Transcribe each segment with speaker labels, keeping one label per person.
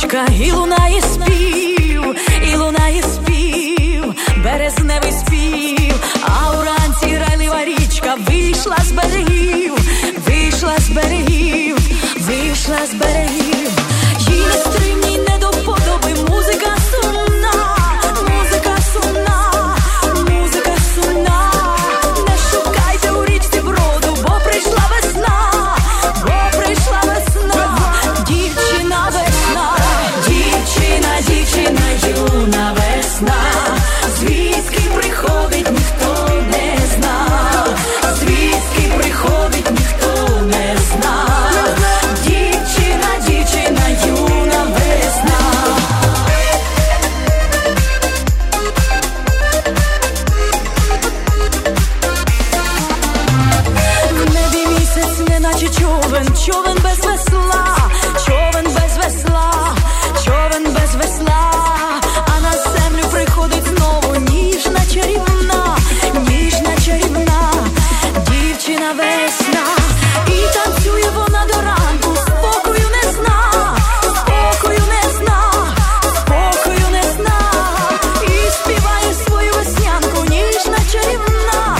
Speaker 1: річка, і лунає спів, березневий спів, а уранці грайлива річка вийшла з берегів, їй нестримній не до вподоби музика сумна, не шукайте у річці броду, бо прийшла весна, дівчина юна весна, звідки приходить ніхто не знав, дівчина юна весна. В небі місяць, неначе човен без весла, а на землю приходить знову ніжна чарівна, дівчина весна. І танцює вона до ранку, спокою не зна, і співає свою веснянку, ніжна чарівна,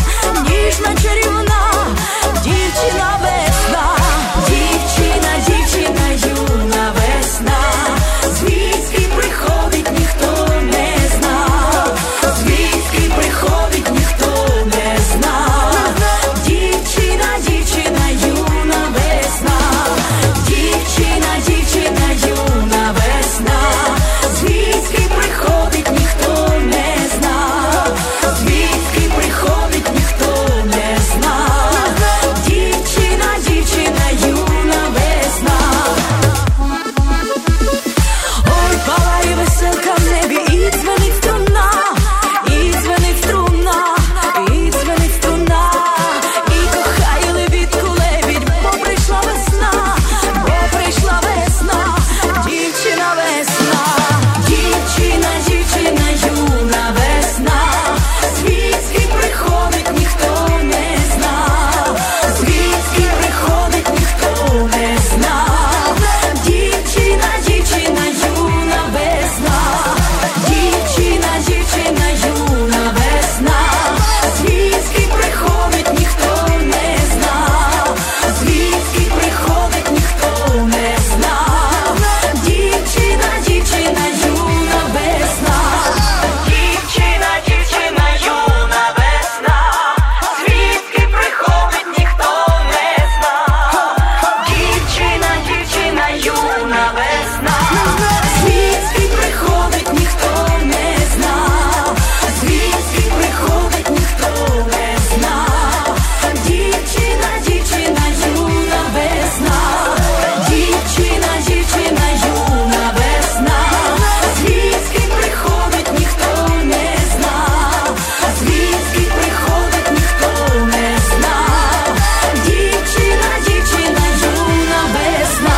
Speaker 1: дівчина весна, дівчина юна весна, звідки приходить ніхто не знав, дівчина юна весна, дівчина юна весна, звідки приходить ніхто не знав, дівчина юна весна. Ой, палає веселка в небі, і дзвенить струна, і кохає лебідку лебідь, бо прийшла весна, дівчина весна, дівчина юна весна, звідки приходить ніхто не знав, дівчина юна весна, дівчина юна весна, звідки приходить ніхто не знав, дівчина юна весна, дівчина юна весна, звідки приходить ніхто не знав, дівчина юна весна, звідки приходить ніхто не знав, дівчина юна весна, дівчина юна весна, звідки приходить ніхто не знав, дівчина юна весна.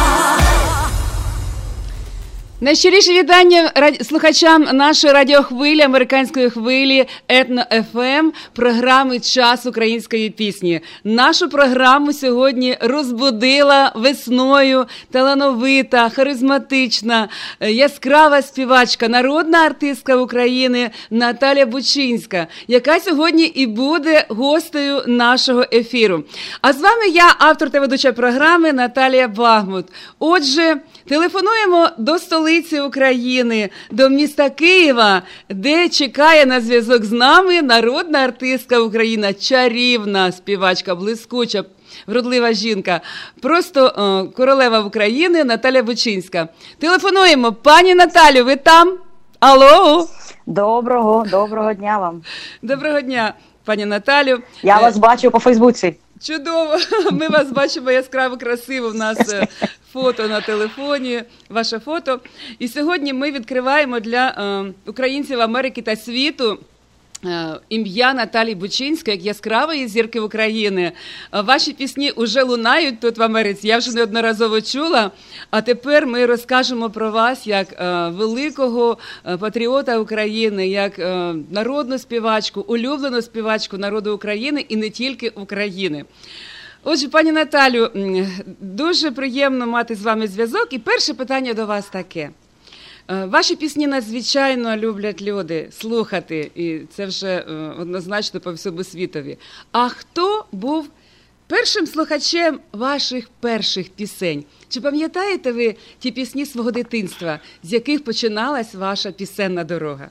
Speaker 2: Найщиріше вітання слухачам нашої радіохвилі, американської хвилі Етно-ФМ, програми «Час української пісні». Нашу програму сьогодні розбудила весною талановита, харизматична, яскрава співачка, народна артистка України Наталя Бучинська, яка сьогодні і буде гостею нашого ефіру. А з вами я, автор та ведуча програми Наталія Багмут. Отже, телефонуємо до столиці України, до міста Києва, де чекає на зв'язок з нами народна артистка України, чарівна співачка, блискуча, вродлива жінка, просто королева України Наталя Бучинська. Телефонуємо. Пані Наталю, ви там? Алло?
Speaker 3: Доброго дня вам.
Speaker 2: Доброго дня, пані Наталю.
Speaker 3: Я вас бачу по Фейсбуці.
Speaker 2: Чудово, ми вас бачимо яскраво, красиво, в нас фото на телефоні, ваше фото. І сьогодні ми відкриваємо для українців Америки та світу ім'я Наталії Бучинської, як яскравої зірки України. Ваші пісні вже лунають тут в Америці, я вже неодноразово чула. А тепер ми розкажемо про вас як великого патріота України, як народну співачку, улюблену співачку народу України і не тільки України. Отже, пані Наталю, дуже приємно мати з вами зв'язок. І перше питання до вас таке. Ваші пісні надзвичайно люблять люди слухати, і це вже однозначно по всьому світові. А хто був першим слухачем ваших перших пісень? Чи пам'ятаєте ви ті пісні свого дитинства, з яких починалась ваша пісенна дорога?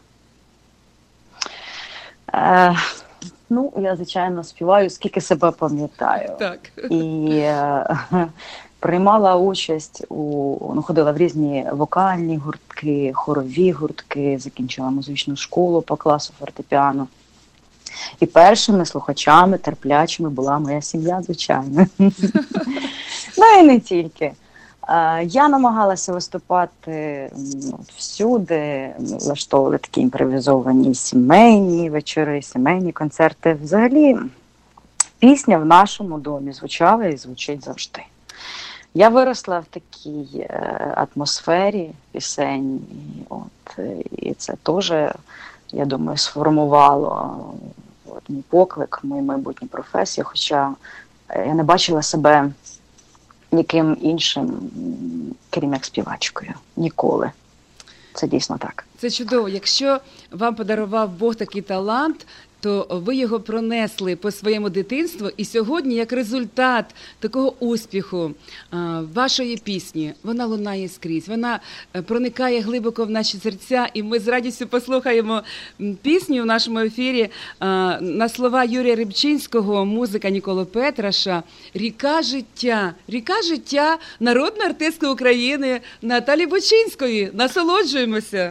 Speaker 3: Я, звичайно, співаю, скільки себе пам'ятаю.
Speaker 2: Так.
Speaker 3: І приймала участь ходила в різні вокальні гуртки, хорові гуртки, закінчила музичну школу по класу фортепіано. І першими слухачами, терплячими була моя сім'я, звичайно. І не тільки. Я намагалася виступати всюди, влаштовували такі імпровізовані сімейні вечори, сімейні концерти. Взагалі, пісня в нашому домі звучала і звучить завжди. Я виросла в такій атмосфері пісень, і це теж, я думаю, сформувало мій поклик, мою майбутню професію, хоча я не бачила себе ніким іншим, крім як співачкою. Ніколи. Це дійсно так.
Speaker 2: Це чудово. Якщо вам подарував Бог такий талант, то ви його пронесли по своєму дитинству, і сьогодні, як результат такого успіху вашої пісні, вона лунає скрізь, вона проникає глибоко в наші серця, і ми з радістю послухаємо пісню в нашому ефірі на слова Юрія Рибчинського, музика Ніколи Петраша «Ріка життя». «Ріка життя» народної артистки України Наталі Бочинської. Насолоджуємося!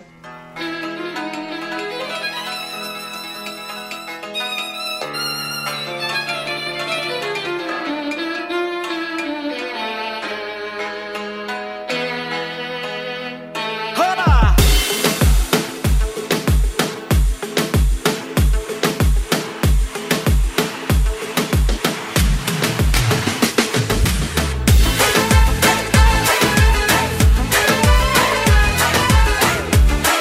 Speaker 4: Hey!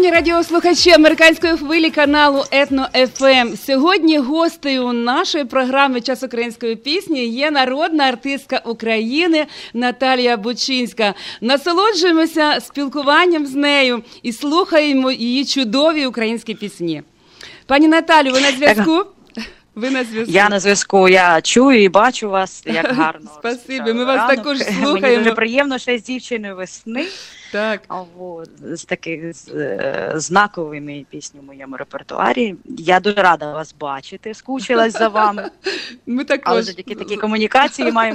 Speaker 2: Шановні радіослухачі американської хвилі каналу Етно-ФМ, сьогодні гостею нашої програми «Час української пісні» є народна артистка України Наталія Бучинська. Насолоджуємося спілкуванням з нею і слухаємо її чудові українські пісні. Пані Наталю, ви на зв'язку? Ви на зв'язку.
Speaker 3: Я на зв'язку, я чую і бачу вас, як гарно.
Speaker 2: Спасибі, ми вас також слухаємо.
Speaker 3: Мені дуже приємно, що з дівчиною весни.
Speaker 2: Так.
Speaker 3: З таких знаковими піснями в моєму репертуарі. Я дуже рада вас бачити, скучилась за вами.
Speaker 2: Ми також.
Speaker 3: Але завдяки такій комунікації маю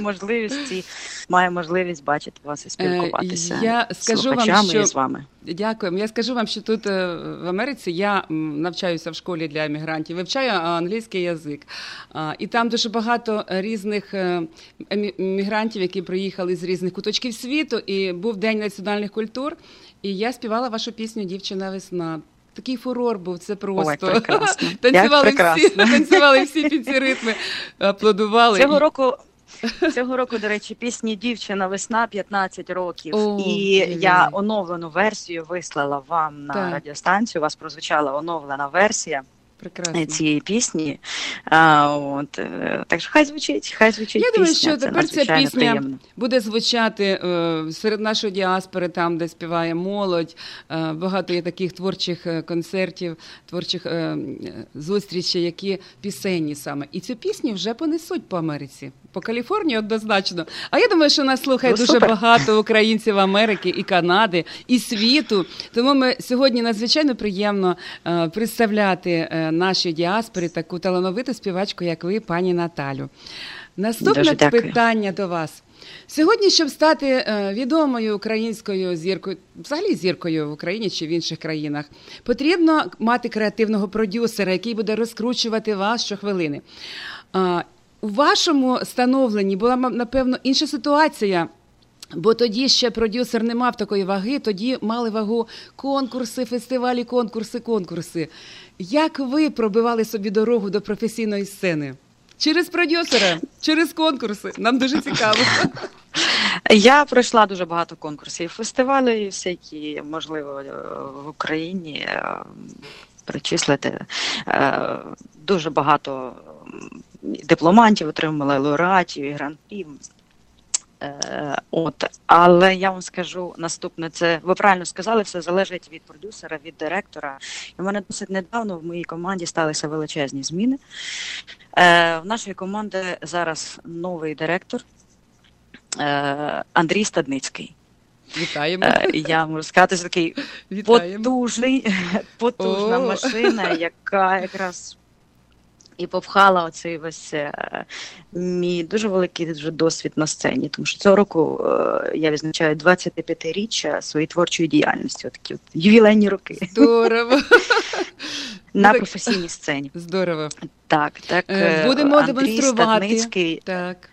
Speaker 3: можливість бачити вас і спілкуватися з слухачами і з вами.
Speaker 2: Дякуємо. Я скажу вам, що тут в Америці я навчаюся в школі для емігрантів, вивчаю англійський язик. І там дуже багато різних емігрантів, які приїхали з різних куточків світу, і був День національних культур, і я співала вашу пісню «Дівчина весна». Такий фурор був, це просто.
Speaker 3: Ой, прекрасно.
Speaker 2: Танцювали всі під ці ритми, аплодували.
Speaker 3: Цього року, до речі, пісні «Дівчина весна» 15 років. Я оновлену версію вислала вам на радіостанцію. У вас прозвучала оновлена версія цієї пісні. Так що хай звучить пісня.
Speaker 2: Я думаю, що тепер ця пісня буде звучати серед нашої діаспори, там, де співає молодь. Багато є таких творчих концертів, творчих зустрічей, які пісенні саме. І цю пісню вже понесуть по Америці. По Каліфорнії однозначно. А я думаю, що нас слухає дуже багато українців Америки і Канади, і світу. Тому ми сьогодні надзвичайно приємно представляти нашій діаспорі таку талановиту співачку, як ви, пані Наталю. Наступне питання до вас. Сьогодні, щоб стати відомою українською зіркою, взагалі зіркою в Україні чи в інших країнах, потрібно мати креативного продюсера, який буде розкручувати вас щохвилини. У вашому становленні була, напевно, інша ситуація, бо тоді ще продюсер не мав такої ваги, тоді мали вагу конкурси, фестивалі, конкурси. Як ви пробивали собі дорогу до професійної сцени? Через продюсера, через конкурси? Нам дуже цікаво.
Speaker 3: Я пройшла дуже багато конкурсів, фестивалів, всякі, можливо, в Україні перечислити. Дуже багато дипломантів отримала, лауреатів і гран-прі. Але я вам скажу наступне, це ви правильно сказали, все залежить від продюсера, від директора. І в мене досить недавно в моїй команді сталися величезні зміни. В нашої команди зараз новий директор Андрій Стадницький.
Speaker 2: Вітаємо.
Speaker 3: Я можу сказати, що такий потужна машина, яка якраз і попхала оцей весь мій дуже великий дуже досвід на сцені. Тому що цього року я відзначаю 25-річчя своєї творчої діяльності. Отакі ювілейні роки.
Speaker 2: Здорово.
Speaker 3: На професійній сцені.
Speaker 2: Здорово.
Speaker 3: Так.
Speaker 2: Будемо
Speaker 3: Андрій
Speaker 2: демонструвати.
Speaker 3: Стадницький
Speaker 2: так.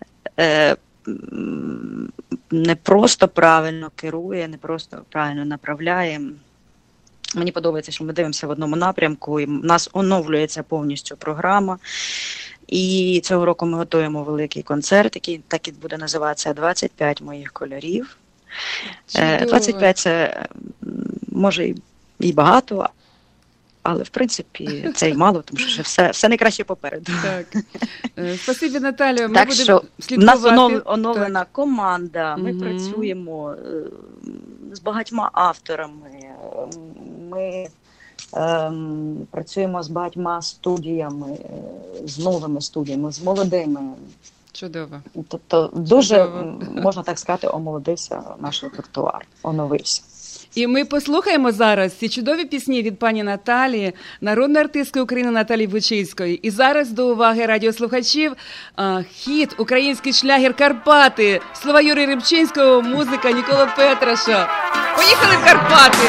Speaker 3: Не просто правильно керує, не просто правильно направляє. Мені подобається, що ми дивимося в одному напрямку, і в нас оновлюється повністю програма. І цього року ми готуємо великий концерт, який так і буде називатися «25 моїх кольорів».
Speaker 2: Чудово.
Speaker 3: 25 – це, може, і багато, але, в принципі, це й мало, тому що все найкраще попереду.
Speaker 2: Так. Спасибі, Наталія. Ми
Speaker 3: так
Speaker 2: будемо
Speaker 3: що
Speaker 2: слідкувати.
Speaker 3: В нас оновлена команда, ми працюємо з багатьма авторами, ми працюємо з багатьма студіями, з новими студіями, з молодими.
Speaker 2: Чудово.
Speaker 3: Тобто дуже, можна так сказати, омолодився наш репертуар, оновився.
Speaker 2: І ми послухаємо зараз ці чудові пісні від пані Наталії, народної артистки України Наталії Бучинської. І зараз до уваги радіослухачів хіт «Український шлягер Карпати», слова Юрія Рибчинського, музика Нікола Петраша. Поїхали в Карпати!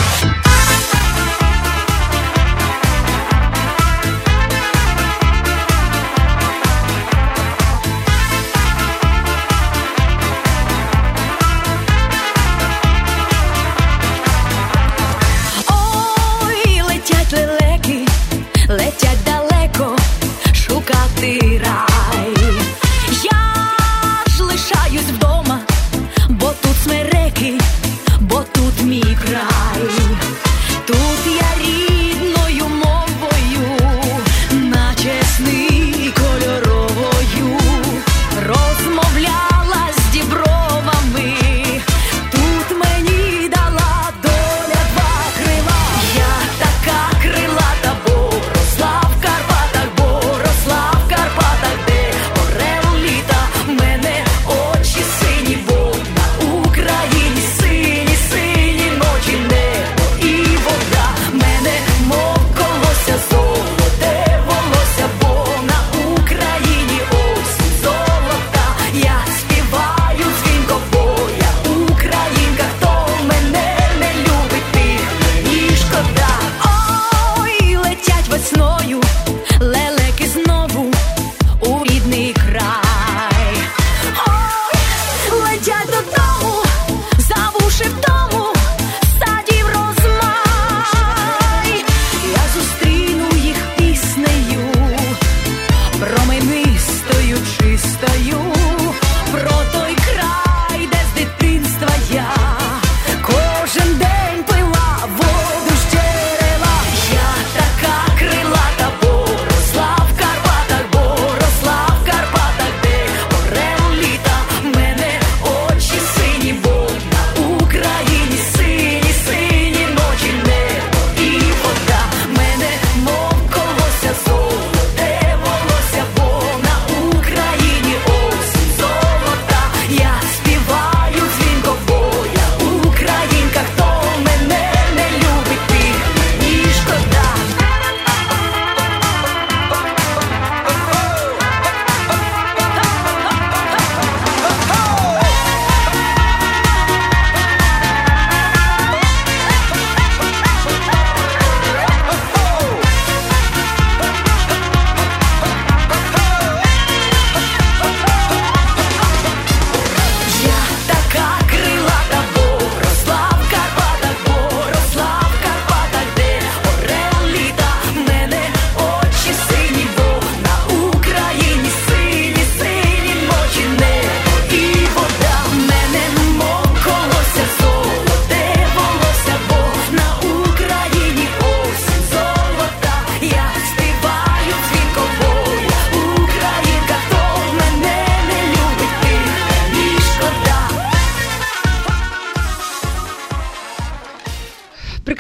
Speaker 1: Летять далеко шукати рай. Я ж лишаюсь вдома, бо тут смереки, бо тут мій край.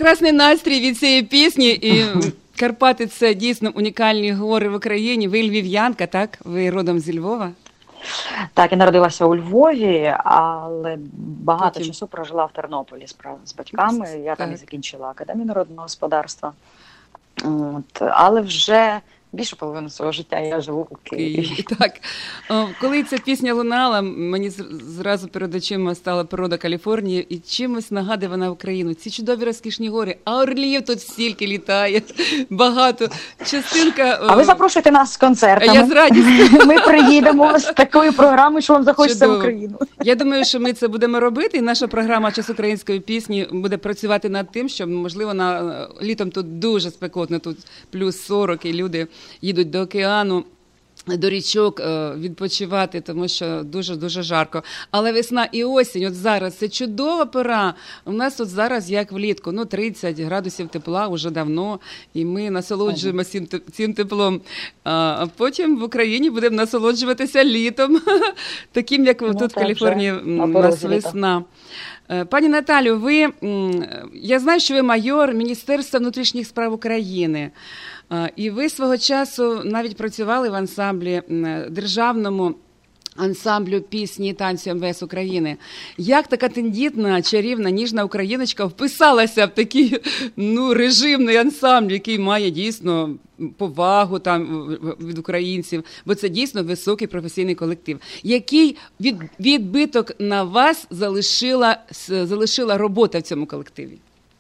Speaker 2: прекрасний настрій від цієї пісні. І Карпати – це дійсно унікальні гори в Україні. Ви львів'янка, так? Ви родом зі Львова?
Speaker 3: Так, я народилася у Львові, але багато часу прожила в Тернополі з батьками. Я там і закінчила Академію народного господарства. Але вже більшу половину свого життя я живу у Києві.
Speaker 2: Так. Коли ця пісня лунала, мені зразу перед очима стала природа Каліфорнії, і чимось нагадує вона Україну. Ці чудові розкішні гори, а орлів тут стільки літає, багато. Частинка...
Speaker 3: А ви запрошуєте нас з концертами.
Speaker 2: Я з радістю.
Speaker 3: Ми приїдемо з такою програмою, що вам захочеться в Україну.
Speaker 2: Я думаю, що ми це будемо робити, і наша програма «Час української пісні» буде працювати над тим, що, можливо, літом тут дуже спекотно, тут плюс 40, і люди їдуть до океану, до річок відпочивати, тому що дуже-дуже жарко. Але весна і осінь, от зараз, це чудова пора. У нас тут зараз, як влітку, 30 градусів тепла вже давно, і ми насолоджуємося цим теплом. А потім в Україні будемо насолоджуватися літом, таким, як тут в Каліфорнії у нас весна. Пані Наталю, я знаю, що ви майор Міністерства внутрішніх справ України. І ви свого часу навіть працювали в ансамблі, державному ансамблю пісні і танцю МВС України. Як така тендітна, чарівна, ніжна україночка вписалася в такий режимний ансамбль, який має дійсно повагу там від українців, бо це дійсно високий професійний колектив. Який відбиток на вас залишила робота в цьому колективі?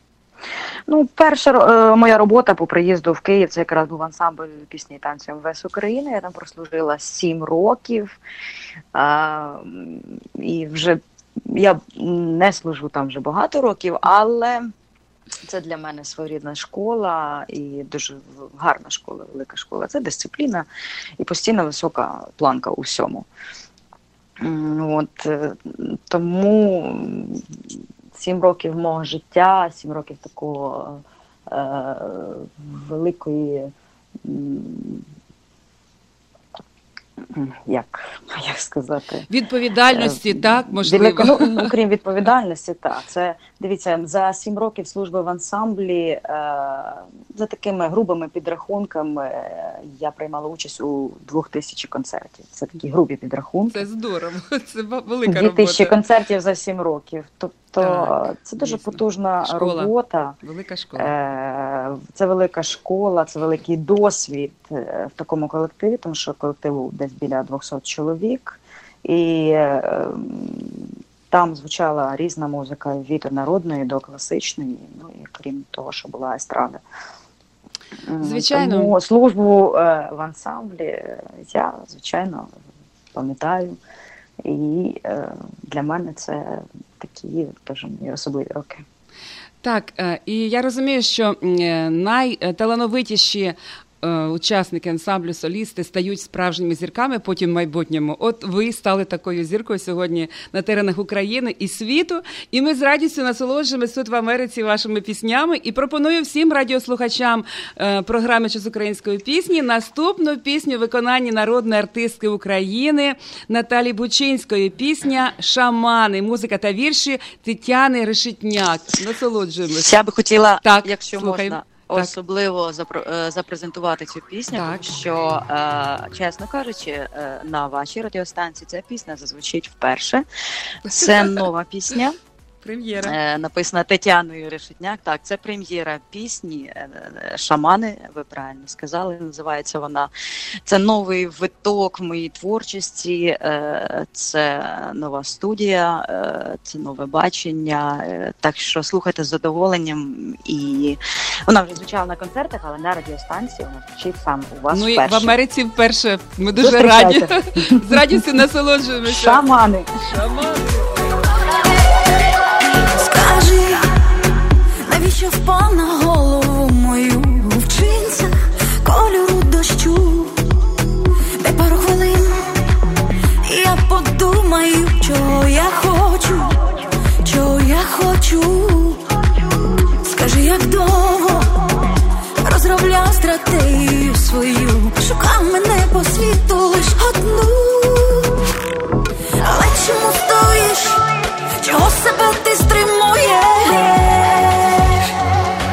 Speaker 3: Перша моя робота по приїзду в Київ, це якраз був ансамбль пісні і танцю МВС України. Я там прослужила 7 років. І вже я не служу там вже багато років, але це для мене своєрідна школа і дуже гарна школа, велика школа. Це дисципліна і постійно висока планка у всьому. Тому 7 років мого життя, 7 років такого великої, як сказати?
Speaker 2: Відповідальності, так, можливо.
Speaker 3: Окрім відповідальності, так. Це, дивіться, за 7 років служби в ансамблі, за такими грубими підрахунками, я приймала участь у 2000 концертів. Це такі грубі підрахунки.
Speaker 2: Це здорово, це велика робота.
Speaker 3: 2000 концертів за 7 років. Тобто це дуже потужна робота.
Speaker 2: Велика школа.
Speaker 3: Це велика школа, це великий досвід в такому колективі, тому що колективу десь біля 200 чоловік. І там звучала різна музика, від народної до класичної, і крім того, що була естрада.
Speaker 2: Звичайно.
Speaker 3: Тому службу в ансамблі я, звичайно, пам'ятаю. І для мене це такі дуже особливі роки.
Speaker 2: Так, і я розумію, що найталановитіші учасники ансамблю, солісти стають справжніми зірками потім в майбутньому. От ви стали такою зіркою сьогодні на теренах України і світу, і ми з радістю насолоджуємося тут в Америці вашими піснями. І пропоную всім радіослухачам програми «Час української пісні» наступну пісню в виконанні народної артистки України Наталі Бучинської. Пісня «Шамани», музика та вірші Тетяни Решетняк. Насолоджуємося.
Speaker 3: Я би хотіла,
Speaker 2: так,
Speaker 3: якщо
Speaker 2: слухаємо.
Speaker 3: можна, особливо запрезентувати цю пісню, тому що, чесно кажучи, на вашій радіостанції ця пісня зазвучить вперше. Це нова пісня.
Speaker 2: Прем'єра.
Speaker 3: Написана Тетяною Решетняк. Так, це прем'єра пісні «Шамани», ви правильно сказали, називається вона. Це новий виток в моїй творчості, це нова студія, це нове бачення. Так що слухайте з задоволенням. І вона вже звучала на концертах, але на радіостанції вона звучить сам у вас вперше.
Speaker 2: І в Америці вперше. Ми дуже раді. З радістю насолоджуємося.
Speaker 3: Шамани.
Speaker 2: Шамани.
Speaker 1: Скажи, навіщо впав на голову мою в джинсах кольору дощу? Дай пару хвилин, і я подумаю, чого я хочу, чого я хочу. Скажи, як довго розробляв стратегію свою, шукав мене по світу лиш одну. Але чому стоїш? Чого себе ти стримуєш?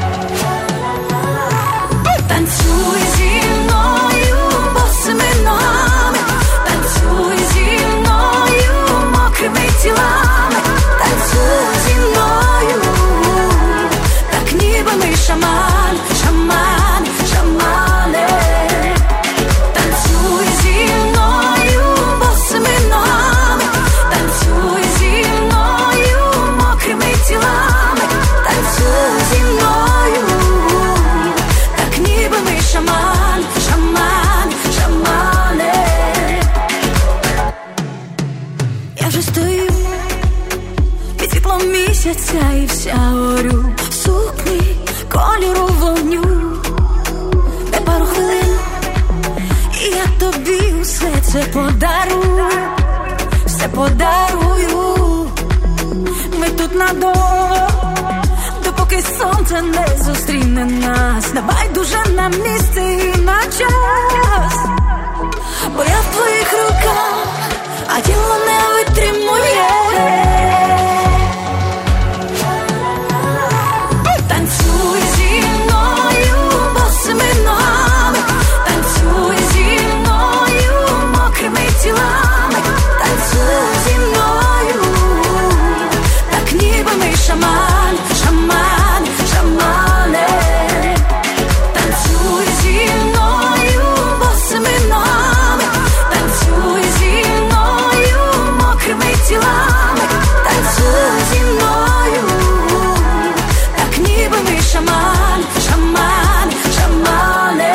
Speaker 1: все подарую, все подарую. Ми тут надовго, допоки сонце не зустріне нас. Не байдуже на місці і на час, бо я в твоїх руках, а тіло не витримує. Танцюй зі мною босими ногами, танцюй зі мною мокрими тілами, танцюй зі мною, так ніби ми шаман, шаман, шамани. Танцюй зі мною босими ногами, танцюй зі мною мокрими тілами, танцюй зі мною, так ніби ми шаман, шаман, шамани.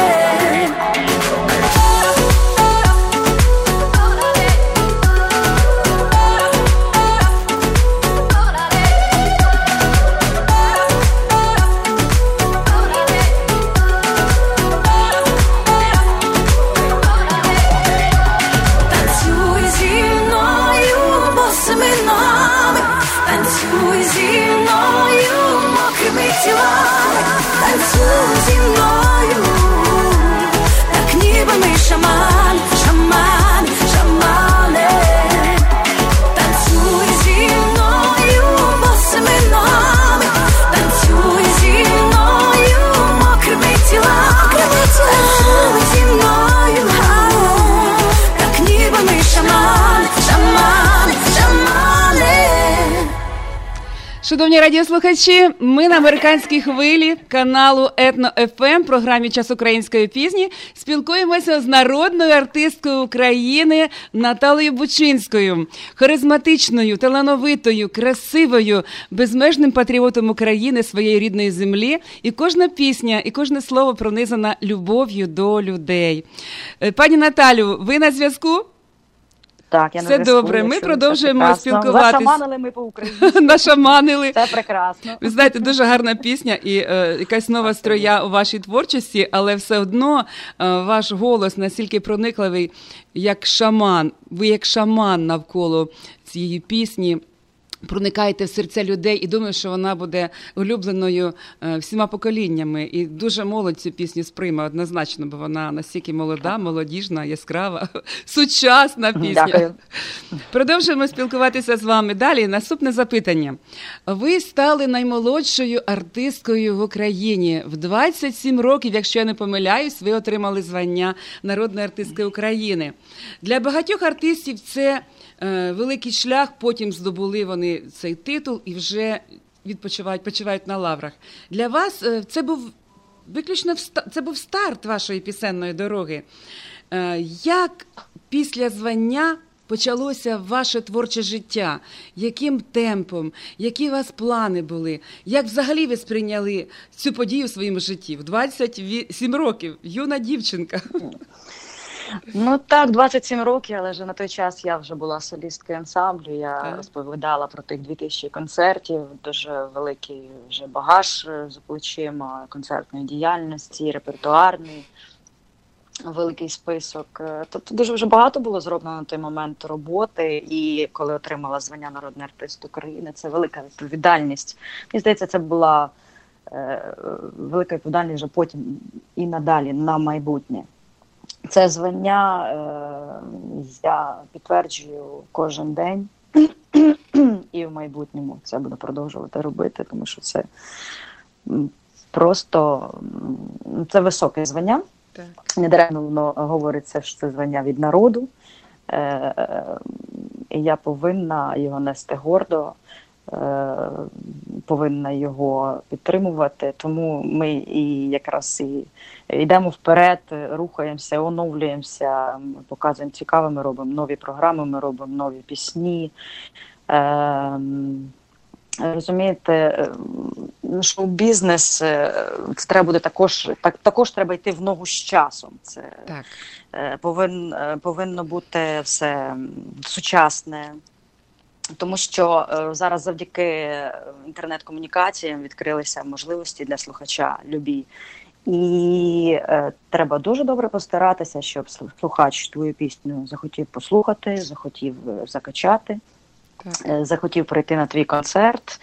Speaker 1: Танцюй зі мною босими ногами, танцюй зі мною мокрими тілами, танцюй зі мною, так ніби ми шаман, шаман, шамани. Танцюй зі мною босими ногами, танцюй зі мною мокрими тілами, танцюй зі мною, так ніби ми шаман, шаман, шамани.
Speaker 2: Шановні радіослухачі, ми на американській хвилі каналу Етно ФМ, програмі «Час української пісні», спілкуємося з народною артисткою України Наталею Бучинською, харизматичною, талановитою, красивою, безмежним патріотом України, своєї рідної землі. І кожна пісня, і кожне слово пронизана любов'ю до людей. Пані Наталю, ви на зв'язку?
Speaker 3: Так, я
Speaker 2: Все добре, ми продовжуємо спілкуватися.
Speaker 3: Нашаманили ми по-українськи.
Speaker 2: Нашаманили.
Speaker 3: Це прекрасно.
Speaker 2: Ви знаєте, дуже гарна пісня і якась нова строя у вашій творчості, але все одно ваш голос настільки проникливий, як шаман. Ви як шаман навколо цієї пісні. Проникаєте в серця людей, і думаю, що вона буде улюбленою всіма поколіннями. І дуже молодь цю пісню сприйме однозначно, бо вона настільки молода, молодіжна, яскрава, сучасна пісня.
Speaker 3: Дякую.
Speaker 2: Продовжуємо спілкуватися з вами. Далі наступне запитання. Ви стали наймолодшою артисткою в Україні. В 27 років, якщо я не помиляюсь, ви отримали звання народної артистки України. Для багатьох артистів це великий шлях, потім здобули вони цей титул і вже почивають на лаврах. Для вас це був виключно це був старт вашої пісенної дороги. Як після звання почалося ваше творче життя? Яким темпом? Які у вас плани були? Як взагалі ви сприйняли цю подію в своєму житті? В 27 років, юна дівчинка.
Speaker 3: Ну так, 27 років, але ж на той час я вже була солісткою ансамблю, я розповідала про тих 2000 концертів, дуже великий вже багаж за плечима концертної діяльності, репертуарний, великий список. Тобто дуже вже багато було зроблено на той момент роботи, і коли отримала звання народний артист України, це велика відповідальність. Мені здається, це була велика відповідальність вже потім і надалі, на майбутнє. Це звання я підтверджую кожен день і в майбутньому це буду продовжувати робити, тому що це просто це високе звання. Недаремно воно говориться, що це звання від народу. І я повинна його нести гордо, повинна його підтримувати, тому ми і якраз і йдемо вперед, рухаємося, оновлюємося, показуємо цікаве, ми робимо нові програми, ми робимо нові пісні. Розумієте, шоу-бізнес, це треба буде також треба йти в ногу з часом. Це так. Повинно бути все сучасне. Тому що зараз завдяки інтернет-комунікаціям відкрилися можливості для слухача любі. І треба дуже добре постаратися, щоб слухач твою пісню захотів послухати, захотів закачати, захотів прийти на твій концерт.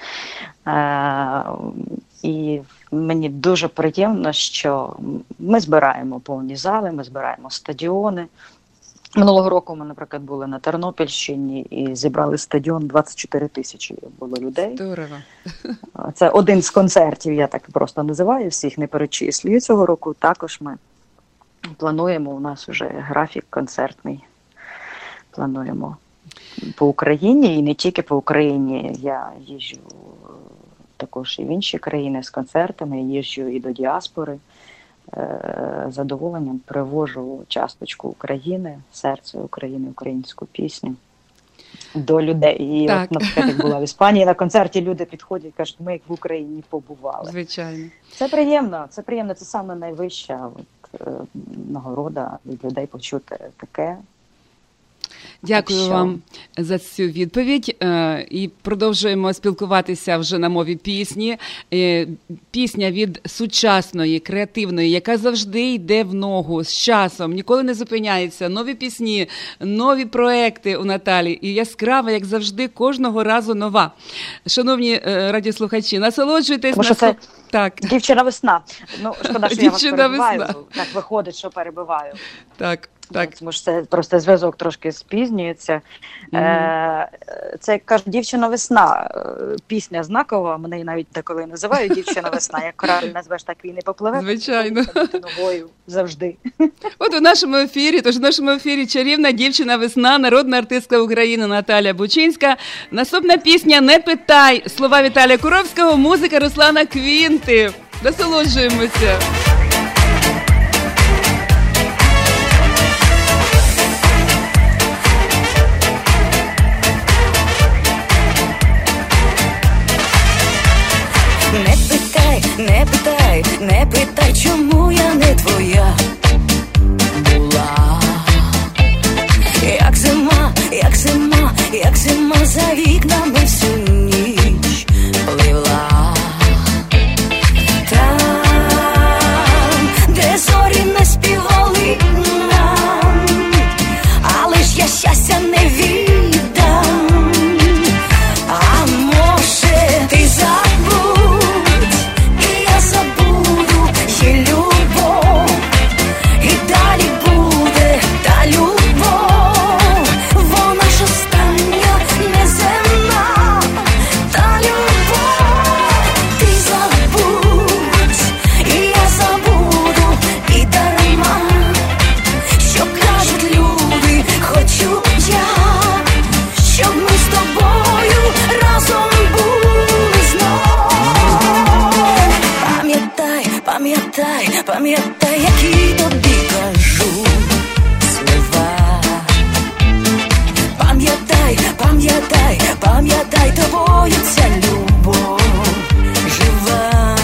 Speaker 3: І мені дуже приємно, що ми збираємо повні зали, ми збираємо стадіони. Минулого року ми, наприклад, були на Тернопільщині і зібрали стадіон, 24 тисячі було людей.
Speaker 2: Здорово.
Speaker 3: Це один з концертів, я так просто називаю, всіх не перечислюю. Цього року також ми плануємо, у нас вже графік концертний, плануємо по Україні і не тільки по Україні. Я їжджу також і в інші країни з концертами, їжджу і до діаспори. З задоволенням привожу часточку України, серце України, українську пісню до людей. І от, наприклад, як була в Іспанії на концерті, люди підходять і кажуть, ми як в Україні побували.
Speaker 2: Звичайно.
Speaker 3: Це приємно, це саме найвища нагорода від людей почути таке.
Speaker 2: Дякую вам за цю відповідь. І продовжуємо спілкуватися вже на мові пісні. Пісня від сучасної, креативної, яка завжди йде в ногу з часом, ніколи не зупиняється. Нові пісні, нові проекти у Наталі. І яскрава, як завжди, кожного разу нова. Шановні радіослухачі, насолоджуйтесь.
Speaker 3: Тому що це
Speaker 2: так.
Speaker 3: Дівчина-весна. Ну, шкода, що я вас перебиваю. Так виходить, що перебиваю.
Speaker 2: Так.
Speaker 3: Тому що це просто зв'язок трошки спізнюється. Це, як кажуть, «Дівчина-весна». Пісня знакова, мене її навіть деколи називають «Дівчина-весна». Як корабель назвеш, так він і попливе.
Speaker 2: Звичайно.
Speaker 3: Ногою завжди.
Speaker 2: От у нашому ефірі чарівна дівчина-весна, народна артистка України Наталя Бучинська. Наступна пісня «Не питай». Слова Віталія Куровського, музика Руслана Квінти. Насолоджуємося.
Speaker 1: Не питай, чому я не твоя була. Як зима за вікнами всю ніч пливла. Там, де зорі не співали нам, але ж я щастя не віддам. А може ти забудь, забуду, є любов, і далі буде та любов, вона ж остання, неземна, та любов. Ти забудь, і я забуду, і дарма, що кажуть люди, хочу я, щоб ми з тобою разом були знов. Пам'ятай, які тобі кажу слова. Пам'ятай, тобою ця любов жива.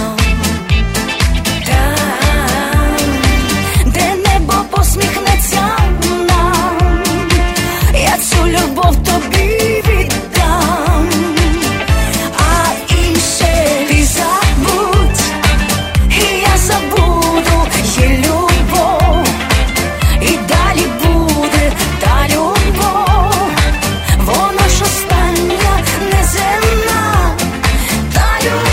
Speaker 1: Там, де небо посміхнеться нам, я цю любов тобі віддам. А інше ти забудь, і я забуду, є любов, і далі буде та любов, вона ж остання, неземна, та любов.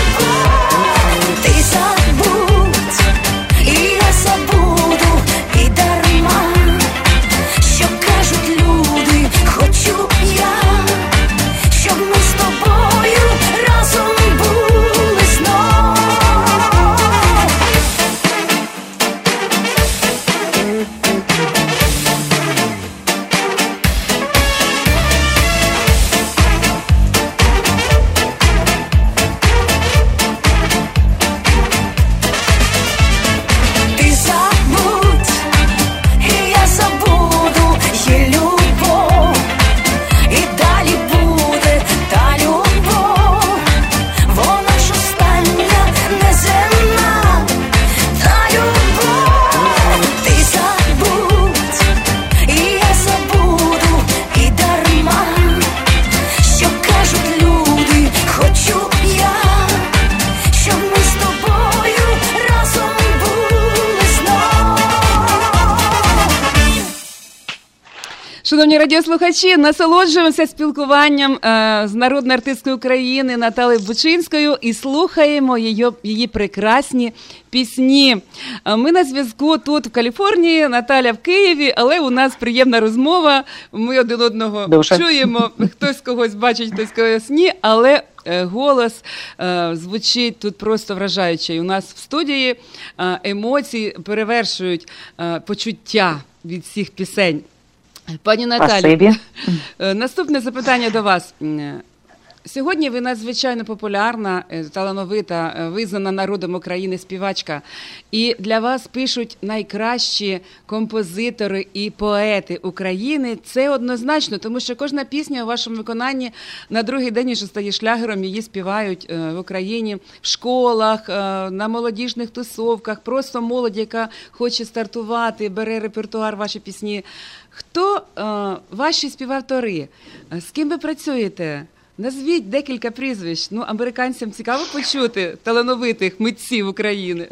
Speaker 2: Шановні радіослухачі, насолоджуємося спілкуванням з народною артисткою України Наталією Бучинською і слухаємо її прекрасні пісні. Ми на зв'язку тут в Каліфорнії, Наталя в Києві, але у нас приємна розмова, ми один одного чуємо, хтось когось бачить, хтось когось ні, але голос звучить тут просто вражаючий. У нас в студії емоції перевершують почуття від всіх пісень. Пані Наталі, наступне запитання до вас. Сьогодні ви надзвичайно популярна, талановита, визнана народом України співачка. І для вас пишуть найкращі композитори і поети України. Це однозначно, тому що кожна пісня у вашому виконанні на другий день вже стає шлягером, її співають в Україні в школах, на молодіжних тусовках, просто молодь, яка хоче стартувати, бере репертуар ваші пісні. Хто ваші співавтори? З ким ви працюєте? Назвіть декілька прізвищ. Американцям цікаво почути талановитих митців України.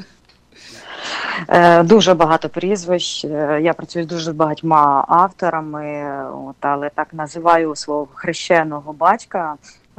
Speaker 3: Дуже багато прізвищ. Я працюю з дуже багатьма авторами, але так називаю свого хрещеного батька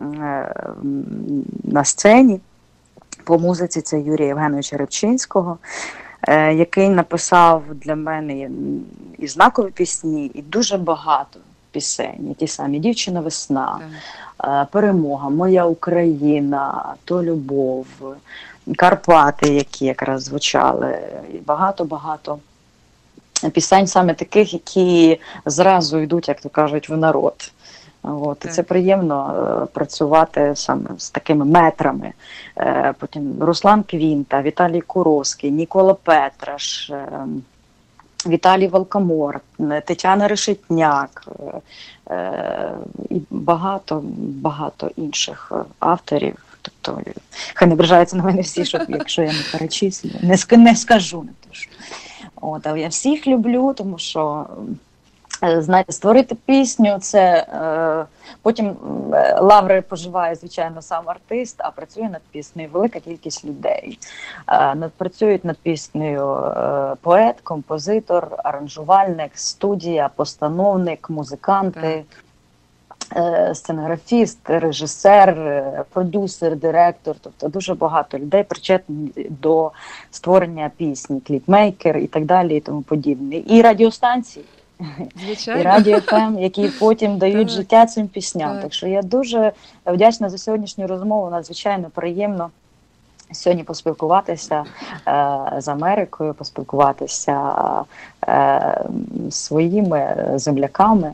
Speaker 3: на сцені. По музиці це Юрія Євгеновича Рибчинського, який написав для мене і знакові пісні, і дуже багато пісень. Ті самі «Дівчина весна», «Перемога», «Моя Україна», «То любов», «Карпати», які якраз звучали, і багато-багато пісень саме таких, які зразу йдуть, як то кажуть, в народ. І це приємно працювати саме з такими метрами. Потім Руслан Квінта, Віталій Куровський, Нікола Петраш, Віталій Волкомор, Тетяна Решетняк і багато інших авторів. Тобто, хай не ображаються на мене всі, якщо я не перечислю. Не скажу, не точно. Але я всіх люблю, тому що, знаєте, створити пісню, це потім лаври поживає, звичайно, сам артист, а працює над піснею велика кількість людей. Працюють над піснею поет, композитор, аранжувальник, студія, постановник, музиканти, сценографіст, режисер, продюсер, директор. Тобто дуже багато людей причетні до створення пісні, кліпмейкер і так далі і тому подібне. І радіостанції. Звичайно. І Радіо ФМ, які потім дають життя цим пісням. Так що я дуже вдячна за сьогоднішню розмову, надзвичайно приємно сьогодні поспілкуватися з Америкою, поспілкуватися з своїми земляками.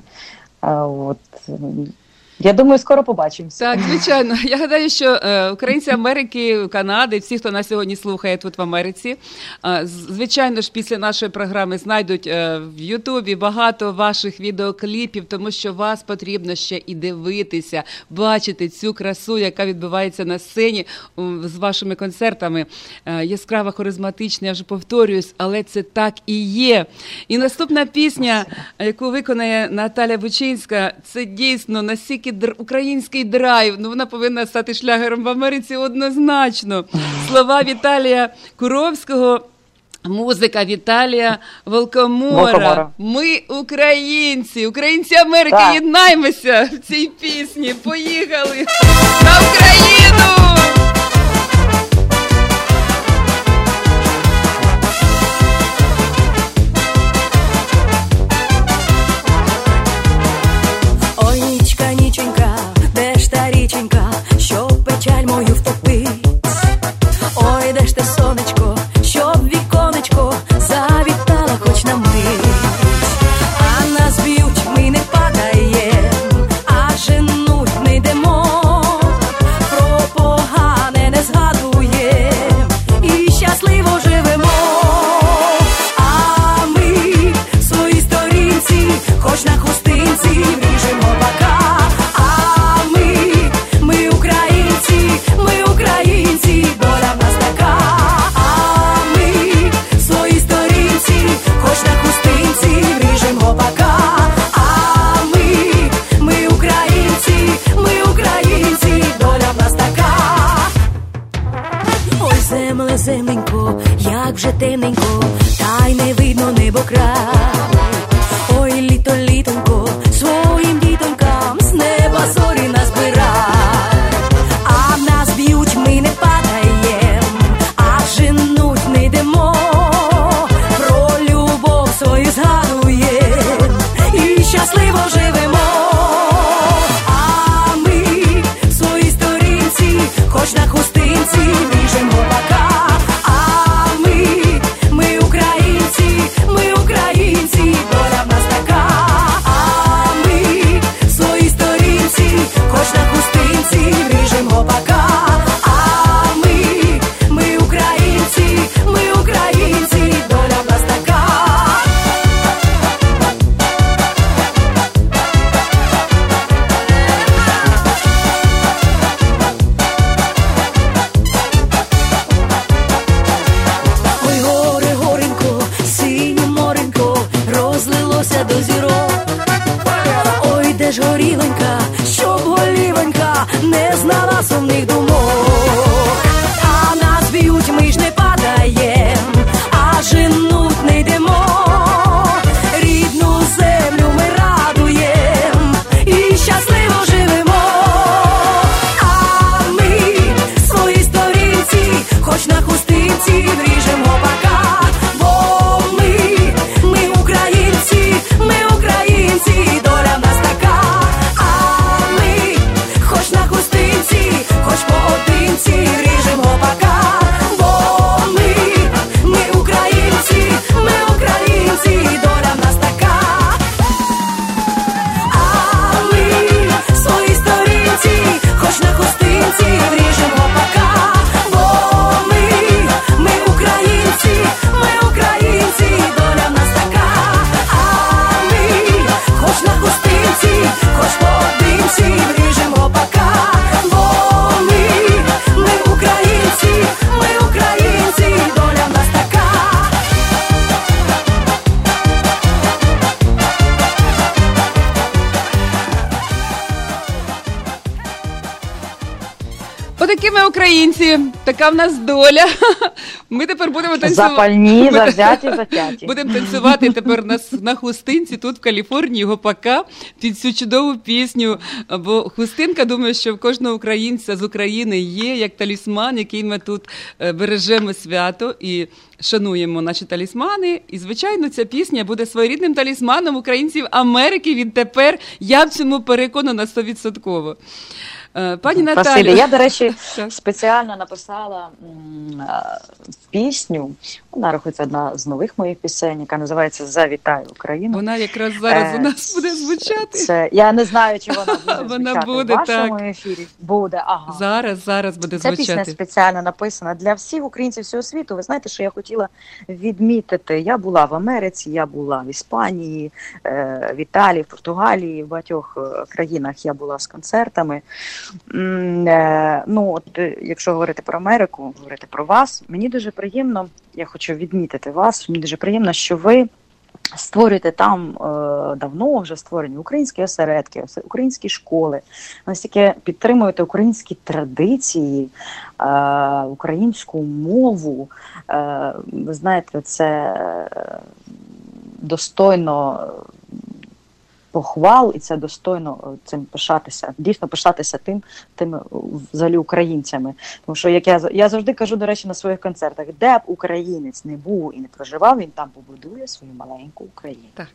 Speaker 3: Я думаю, скоро побачимося.
Speaker 2: Так, звичайно. Я гадаю, що українці Америки, Канади, всі, хто нас сьогодні слухає тут в Америці, звичайно ж, після нашої програми знайдуть в Ютубі багато ваших відеокліпів, тому що вас потрібно ще і дивитися, бачити цю красу, яка відбувається на сцені з вашими концертами. Яскрава, харизматична, я вже повторююсь, але це так і є. І наступна пісня, яку виконає Наталя Бучинська, це дійсно настільки український драйв, вона повинна стати шлягером в Америці однозначно. Слова Віталія Куровського, музика Віталія Волкомора. Ми українці, українці Америки, єднаймося в цій пісні. Поїхали на Україну!
Speaker 1: Щоб печаль мою втопить. Ой, де ж те сонечко, щоб віконечко завітала хоч на мить. А нас б'ють, ми не падаєм, а женуть не йдемо. Про погане не згадуєм і щасливо живемо. А ми в своїй сторінці, хоч на хустинці, вріжемо бока. Ми українці, доля в нас така. А ми в своїй сторінці, хоч на хустинці, вріжем гопака. А ми українці, доля в нас така. Ой, земле, земленько, як вже темненько, та й не видно небо край. Ой, літо, літонько, нема сумних думок. А нас б'ють, ми ж не падаєм, а женуть не йдемо. Рідну землю ми радуєм і щасливо живемо. А ми свої сторінці, хоч на хустинці вріжемо пока. Бо ми українці, доля в нас така. А ми хоч на хустинці, хоч поодинці вріжемо пока. Бо ми українці, доля в нас така. А ми свої сторінці, хоч на хустинці вріжемо пока. Бо ми українці, доля в нас така. А ми хоч на хустинці, хоч поодинці вріжемо пока. Бо ми українці, доля в нас така.
Speaker 2: Отакі ми українці, така в нас доля. Ми тепер будемо танцювати.
Speaker 3: Запальні, завзяті, затяті.
Speaker 2: Будемо танцювати тепер на хустинці тут в Каліфорнії, гопака, під цю чудову пісню. Бо хустинка, думаю, що в кожного українця з України є як талісман, який ми тут бережемо свято і шануємо наші талісмани. І, звичайно, ця пісня буде своєрідним талісманом українців Америки відтепер. Я в цьому переконана 100%. Пані Наталю.
Speaker 3: Спасибі. Я, до речі, спеціально написала пісню. Вона рахується одна з нових моїх пісень, яка називається «Завітай Україну».
Speaker 2: Вона якраз зараз у нас буде звучати.
Speaker 3: Я не знаю, чи вона буде
Speaker 2: вона
Speaker 3: звучати
Speaker 2: буде,
Speaker 3: в вашому
Speaker 2: так.
Speaker 3: ефірі. Буде, ага.
Speaker 2: Зараз буде
Speaker 3: Ця
Speaker 2: звучати.
Speaker 3: пісня спеціально написана для всіх українців всього світу. Ви знаєте, що я хотіла відмітити? Я була в Америці, я була в Іспанії, в Італії, в Португалії, в багатьох країнах я була з концертами. Якщо говорити про Америку, говорити про вас, мені дуже приємно, я хочу відмітити вас, мені дуже приємно, що ви створюєте там давно вже створені українські осередки, українські школи, настільки підтримуєте українські традиції, українську мову. Ви знаєте, це достойно похвал, і це достойно цим пишатися, дійсно пишатися тими взагалі українцями. Тому що, як я завжди кажу, до речі, на своїх концертах, де б українець не був і не проживав, він там побудує свою маленьку Україну.
Speaker 2: Так.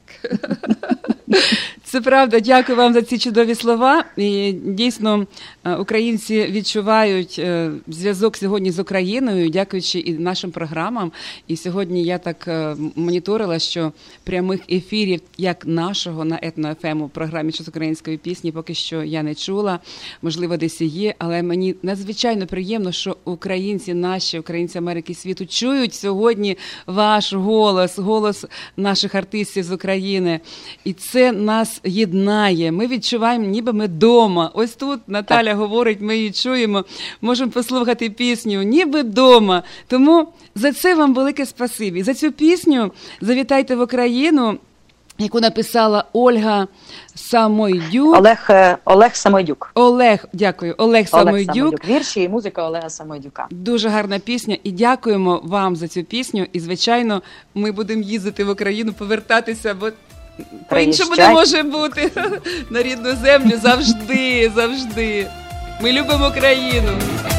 Speaker 2: Це правда. Дякую вам за ці чудові слова. І дійсно, українці відчувають зв'язок сьогодні з Україною, дякуючи і нашим програмам. І сьогодні я так моніторила, що прямих ефірів, як нашого на Етно-ФМ у програмі «Час української пісні» поки що я не чула. Можливо, десь і є, але мені надзвичайно приємно, що українці наші, українці Америки і світу чують сьогодні ваш голос, голос наших артистів з України. І це нас єднає. Ми відчуваємо, ніби ми вдома. Ось тут Наталя говорить, ми її чуємо, можемо послухати пісню «Ніби вдома». Тому за це вам велике спасибі. За цю пісню «Завітайте в Україну», яку написала Ольга Самойдюк.
Speaker 3: Олег Самойдюк.
Speaker 2: Дякую. Олег Самойдюк.
Speaker 3: Вірші і музика Олега Самойдюка.
Speaker 2: Дуже гарна пісня. І дякуємо вам за цю пісню. І, звичайно, ми будемо їздити в Україну, повертатися, бо по-іншому не може бути. На рідну землю завжди, завжди. Ми любимо країну.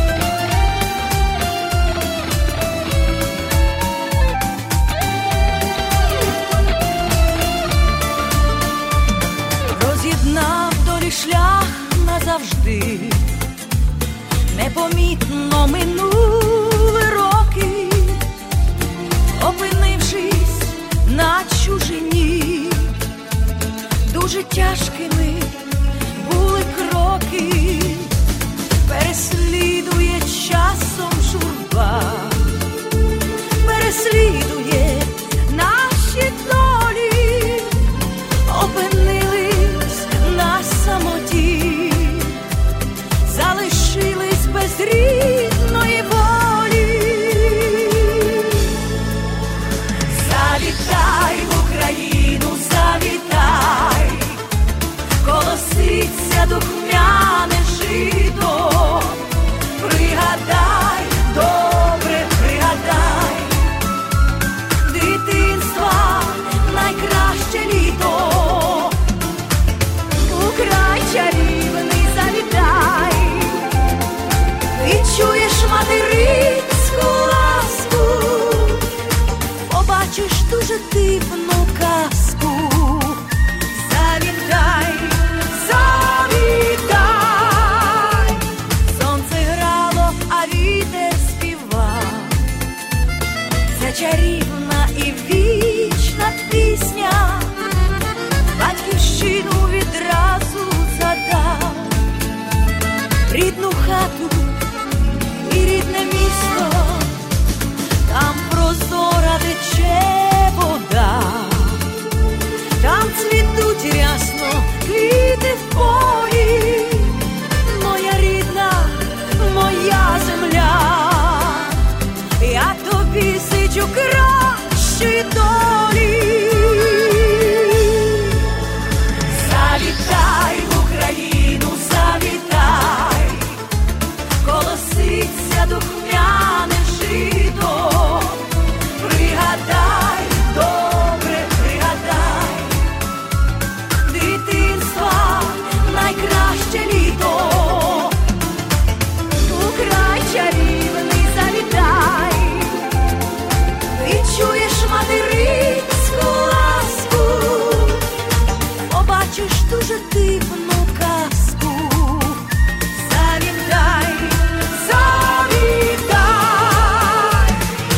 Speaker 1: Роз'єднав долі шлях назавжди, непомітно минули роки, опинившись на чужині, дуже тяжкими були кроки, переслідує часом журба, переслідує наші долі, опинились на самоті, залишились без рідної волі. Завітай в Україну, завітай, колоситься духмяне жито, дуже дивну казку. Завітай, завітай, сонце грало, а вітер співав. Це чарівна і вічна пісня, батьківщину відразу згадав. Рідну хату і рідне місто, там прозора тече вода, там цвітуть рясно квіти в полі. Моя рідна, моя земля, я тобі сичу кращої долі. Завітай в Україну, завітай, колоситься духмяне жито. Пригадай, добре пригадай, дитинства найкраще літо. У край чарівний завітай, відчуєш материнську ласку, побачиш дуже дивну казку. Завітай, завітай.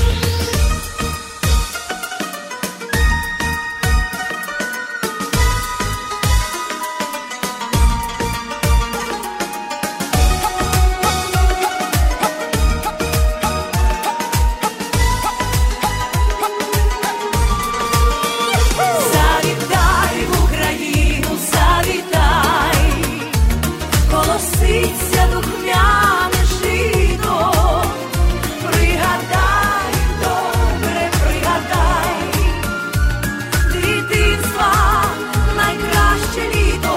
Speaker 1: Завітай в Україну, завітай, колоситься духмяне жито. Пригадай, добре пригадай, дитинства найкраще літо.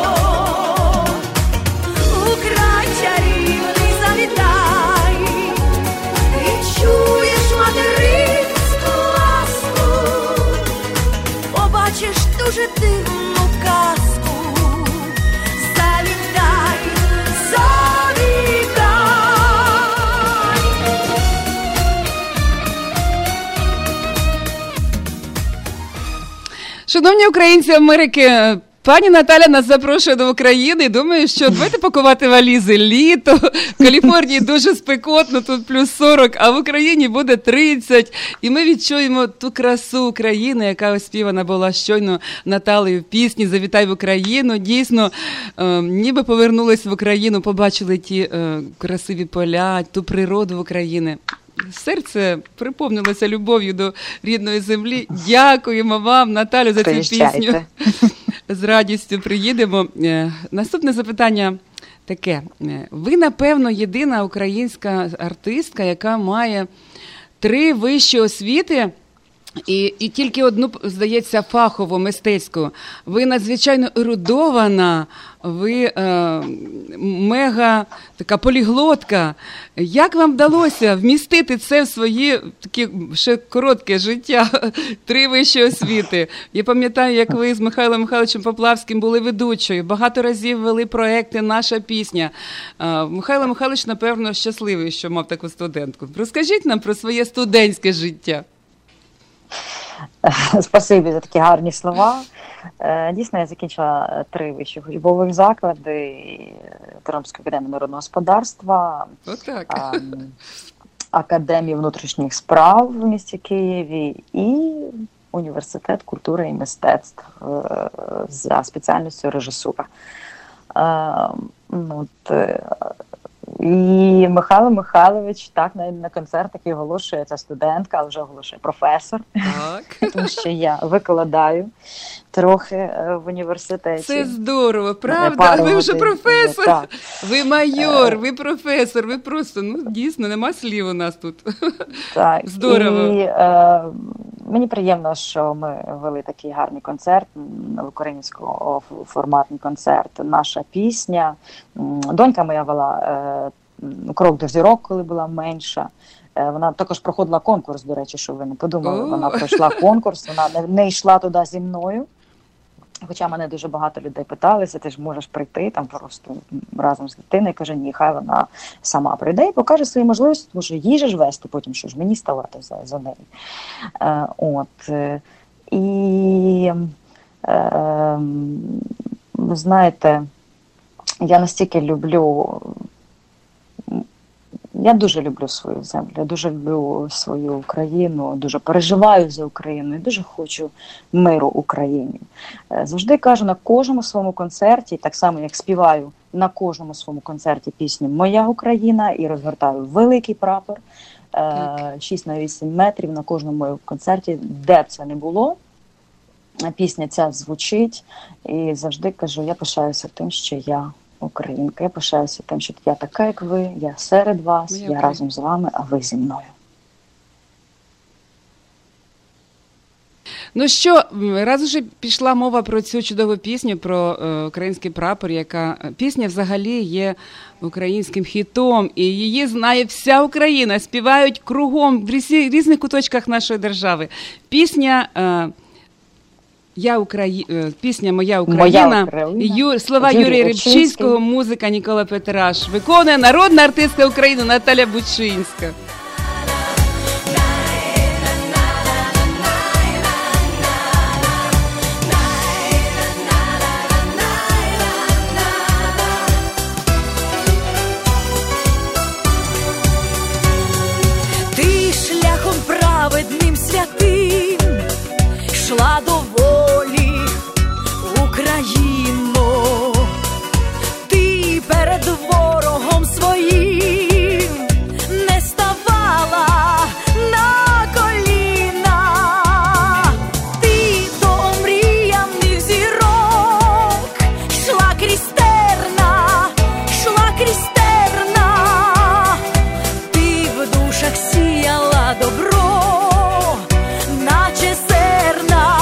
Speaker 1: У край чарівний завітай, відчуєш материнську ласку, побачиш дуже дивну казку. Завітай, завітай.
Speaker 2: Шановні українці Америки, пані Наталя нас запрошує до України. Думаю, що давайте пакувати валізи. Літо, в Каліфорнії дуже спекотно, тут плюс 40, а в Україні буде 30. І ми відчуємо ту красу України, яка оспівана була щойно Наталею в пісні «Завітай в Україну». Дійсно, ніби повернулись в Україну, побачили ті красиві поля, ту природу України. Серце приповнилося любов'ю до рідної землі. Дякуємо вам, Наталю, за цю пісню. З радістю приїдемо. Наступне запитання таке. Ви, напевно, єдина українська артистка, яка має 3 вищі освіти і тільки одну, здається, фахову, мистецьку. Ви надзвичайно ерудована, ви мега така поліглотка. Як вам вдалося вмістити це в своє таке ще коротке життя, 3 вищі освіти? Я пам'ятаю, як ви з Михайлом Михайловичем Поплавським були ведучою, багато разів вели проекти «Наша пісня». Михайло Михайлович, напевно, щасливий, що мав таку студентку. Розкажіть нам про своє студентське життя.
Speaker 3: Спасибі за такі гарні слова. Дійсно, я закінчила 3 вищих учбових заклади: Тернопільську академію народного господарства, Академію внутрішніх справ в місті Києві і Університет культури і мистецтв за спеціальністю режисура. І Михайло Михайлович так на концертах і оголошує, ця студентка, але вже оголошує професор, тому що я викладаю трохи в університеті.
Speaker 2: Це здорово, правда? Ви вже професор, так. Ви майор, ви професор, ви просто, дійсно, нема слів у нас тут.
Speaker 3: Так.
Speaker 2: Здорово.
Speaker 3: І мені приємно, що ми вели такий гарний концерт, українсько-форматний концерт «Наша пісня». Донька моя вела «Крок до зірок», коли була менша. Вона також проходила конкурс, до речі, що ви не подумали. Вона пройшла конкурс, вона не йшла туди зі мною. Хоча мене дуже багато людей питалися, ти ж можеш прийти там просто разом з дитиною. Каже, ні, хай вона сама прийде і покаже свої можливості, тому що їй же ж вести потім, що ж мені ставати за нею. І, ви знаєте, я настільки я дуже люблю свою землю, я дуже люблю свою Україну, дуже переживаю за Україну і дуже хочу миру Україні. Завжди кажу на кожному своєму концерті, так само як співаю на кожному своєму концерті пісню «Моя Україна» і розгортаю великий прапор 6х8 метрів на кожному моєму концерті, де б це не було. Пісня ця звучить і завжди кажу, я пишаюся тим, що я українка. Я пишаюся тим, що я така, як ви, я серед вас, я разом з вами, а ви зі мною.
Speaker 2: Ну що, раз уже пішла мова про цю чудову пісню, про український прапор, яка пісня взагалі є українським хітом, і її знає вся Україна, співають кругом в різних куточках нашої держави. Пісня пісня «Моя Україна», слова Юрія Рибчинського, музика Нікола Петраш. Виконує народна артистка України Наталя Бучинська.
Speaker 1: Ти шляхом праведним святим йшла до волі, Україно, ти перед ворогом своїм не ставала на коліна, ти до омріяних зірок йшла крізь терна, ти в душах сіяла добро, наче зерна.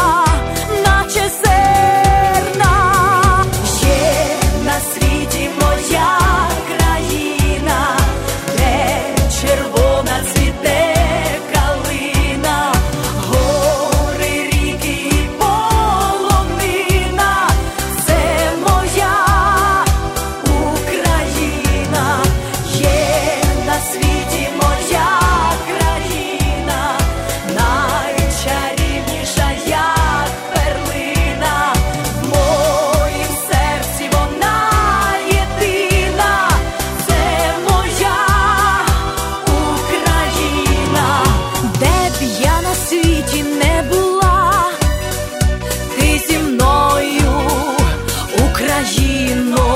Speaker 1: Є на світі моя країна, де червона цвіте калина, гори, ріки і полонина. Це моя Україна. Є на світі моя країна, найчарівніша, як перлина. В моїм серці вона єдина. Це моя Україна. Де б я на світі не була, ти зі мною, Україно.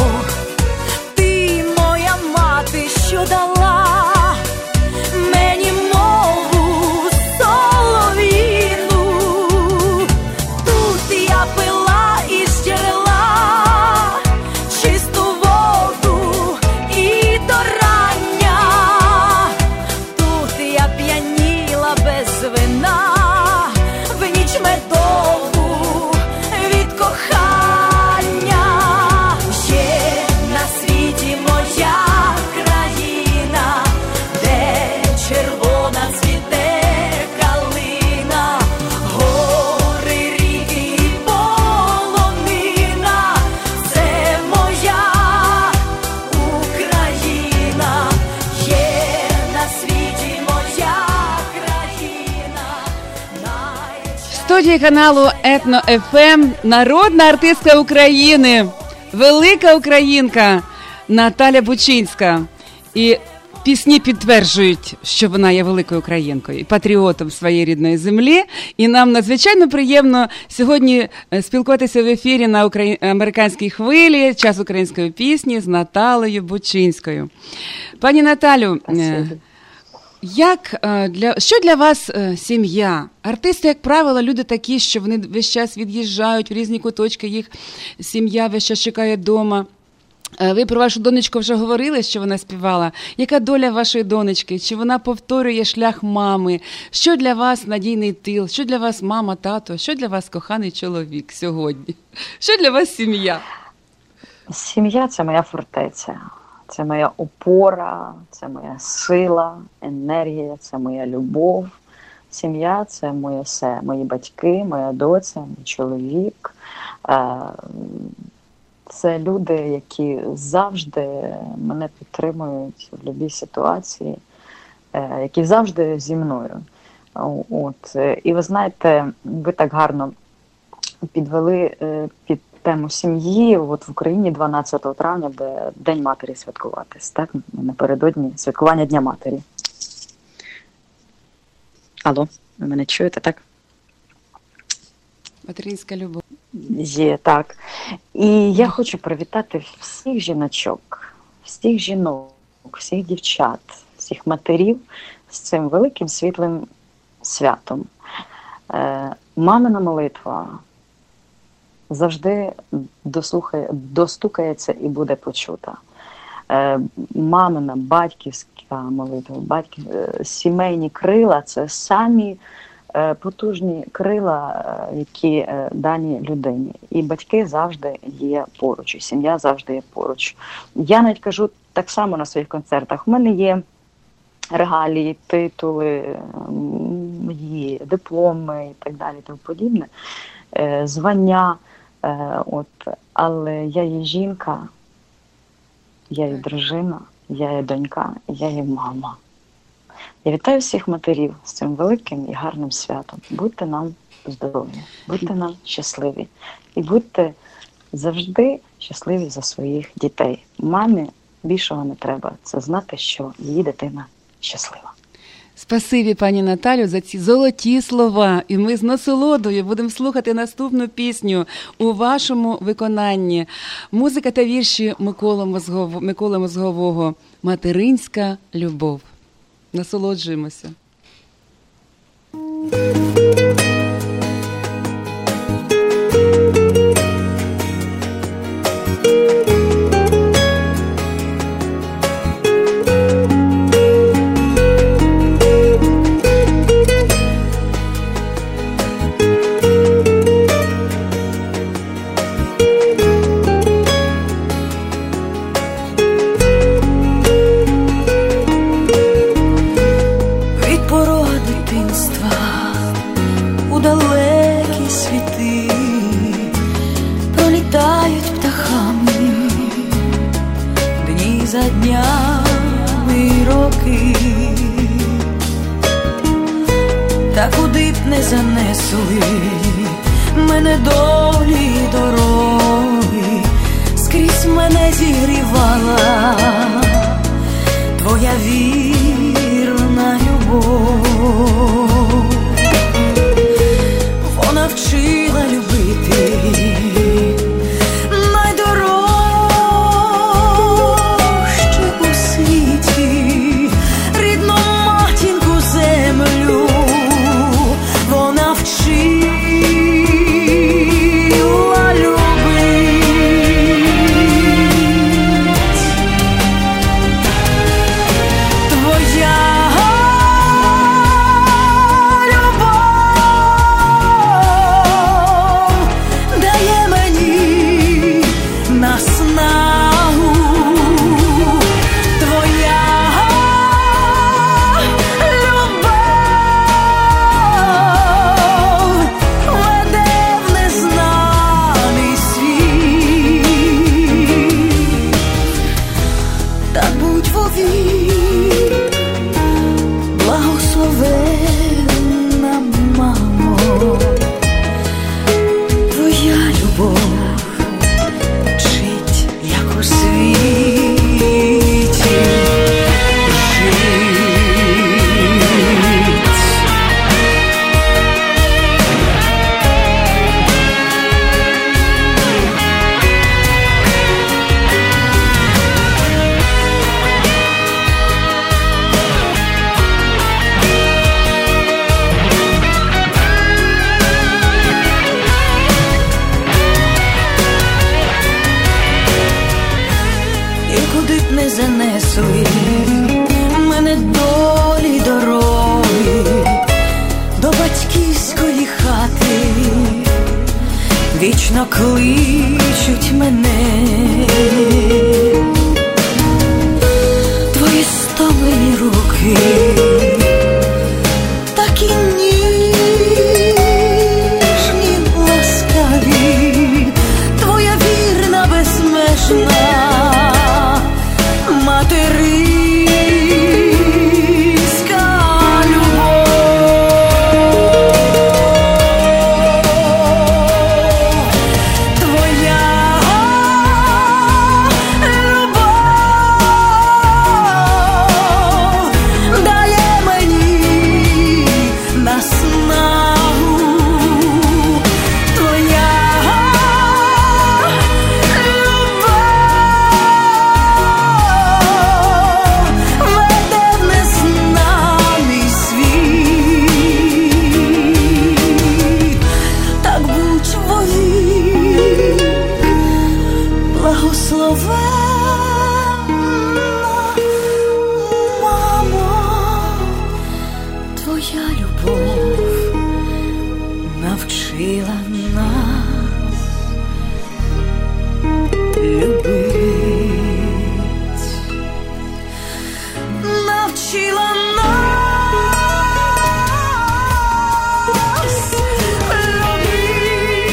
Speaker 1: Ти моя мати, що дала мені мову солов'їну. Тут я пила із джерела чисту воду і до рання. Тут я п'яніла без вина в ніч медову від кохання. Є на світі моя країна, де червона цвіте калина, гори, ріки і полонина. Це моя Україна. Є на світі моя країна.
Speaker 2: В студії каналу Етно-ФМ народна артистка України, велика українка Наталя Бучинська. І пісні підтверджують, що вона є великою українкою і патріотом своєї рідної землі. І нам надзвичайно приємно сьогодні спілкуватися в ефірі на американській хвилі «Час української пісні» з Наталею Бучинською. Пані Наталю, що для вас сім'я? Артисти, як правило, люди такі, що вони весь час від'їжджають в різні куточки, їх сім'я весь час чекає вдома. Ви про вашу донечку вже говорили, що вона співала. Яка доля вашої донечки? Чи вона повторює шлях мами? Що для вас надійний тил? Що для вас мама, тато? Що для вас коханий чоловік сьогодні? Що для вас сім'я?
Speaker 3: Сім'я – це моя фортеця. Це моя опора, це моя сила, енергія, це моя любов. Сім'я – це моє все. Мої батьки, моя доця, мій чоловік. Це люди, які завжди мене підтримують в будь-якій ситуації, які завжди зі мною. От. І ви знаєте, ви так гарно підвели під тему сім'ї. От в Україні 12 травня буде День матері святкуватись, так? Напередодні святкування Дня матері. Алло, ви мене чуєте, так?
Speaker 2: Материнська любов.
Speaker 3: Є, так. І я хочу привітати всіх жіночок, всіх жінок, всіх дівчат, всіх матерів з цим великим світлим святом. Мамина молитва завжди достукається і буде почута. Мамина, батьківська молитва, сімейні крила – це самі потужні крила, які дані людині. І батьки завжди є поруч, і сім'я завжди є поруч. Я навіть кажу так само на своїх концертах. У мене є регалії, титули, є дипломи і так далі, тому подібне, звання. Але я є жінка, я є дружина, я є донька, я є мама. Я вітаю всіх матерів з цим великим і гарним святом. Будьте нам здорові, будьте нам щасливі. І будьте завжди щасливі за своїх дітей. Мамі більшого не треба. Це знати, що її дитина щаслива.
Speaker 2: Спасибі, пані Наталю, за ці золоті слова. І ми з насолодою будемо слухати наступну пісню у вашому виконанні. Музика та вірші Миколи Мозгового «Материнська любов». Насолоджуємося.
Speaker 1: Та куди б не занесли мене долі й дороги, скрізь мене зігрівала твоя вірна любов. Вона вчила любити найдорожче у світі, рідну матінку землю. Вона вчила любить. Твоя любов дає мені наснагу. Твоя любов веде в незнаний світ. Та будь вовік благословенна, мамо, твоя любов вчить, як у світі жить. І куди б не занесли мене долі дороги, до батьківської хати вічно кличуть мене. Твої стомлені руки такі ніжні, ласкаві, твоя вірна, безмежна материнська любов. соловей. Твоя любов навчила нас любить, навчила нас любить.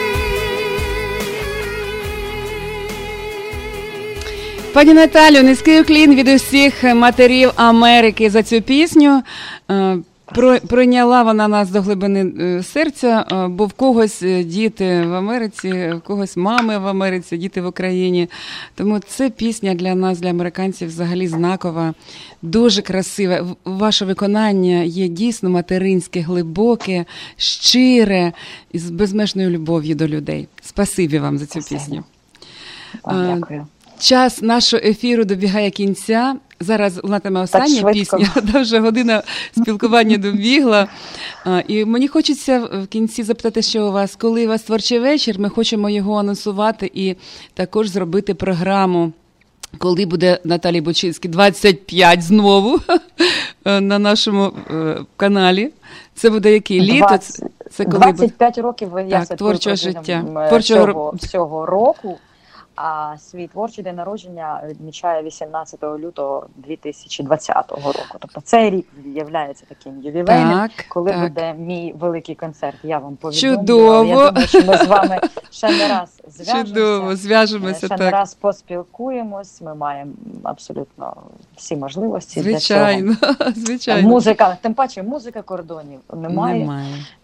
Speaker 2: Пані Наталю, низький уклін від усіх матерів Америки за цю пісню. Пройняла вона нас до глибини серця, бо в когось діти в Америці, в когось мами в Америці, діти в Україні. Тому це пісня для нас, для американців, взагалі знакова, дуже красива. Ваше виконання є дійсно материнське, глибоке, щире і з безмежною любов'ю до людей. Спасибі вам за цю пісню.
Speaker 3: Дякую.
Speaker 2: Час нашого ефіру добігає кінця. Зараз лунатиме остання пісня, вже година спілкування добігла. І мені хочеться в кінці запитати, що у вас, коли у вас творчий вечір, ми хочемо його анонсувати і також зробити програму, коли буде Наталії Бучинській 25 знову на нашому каналі. Це буде який? Літо?
Speaker 3: Це коли 25 років я
Speaker 2: творчого життя.
Speaker 3: Всього року. А свій творчий день народження відмічає 18 лютого 2020 року. Тобто цей рік є таким ювілейним, коли буде мій великий концерт. Я вам повідомлю.
Speaker 2: Чудово!
Speaker 3: Я думаю, що ми з вами ще не раз
Speaker 2: зв'яжемося,
Speaker 3: ще не раз поспілкуємось. Ми маємо абсолютно всі можливості для цього.
Speaker 2: Звичайно.
Speaker 3: Музика, тим паче музика кордонів немає.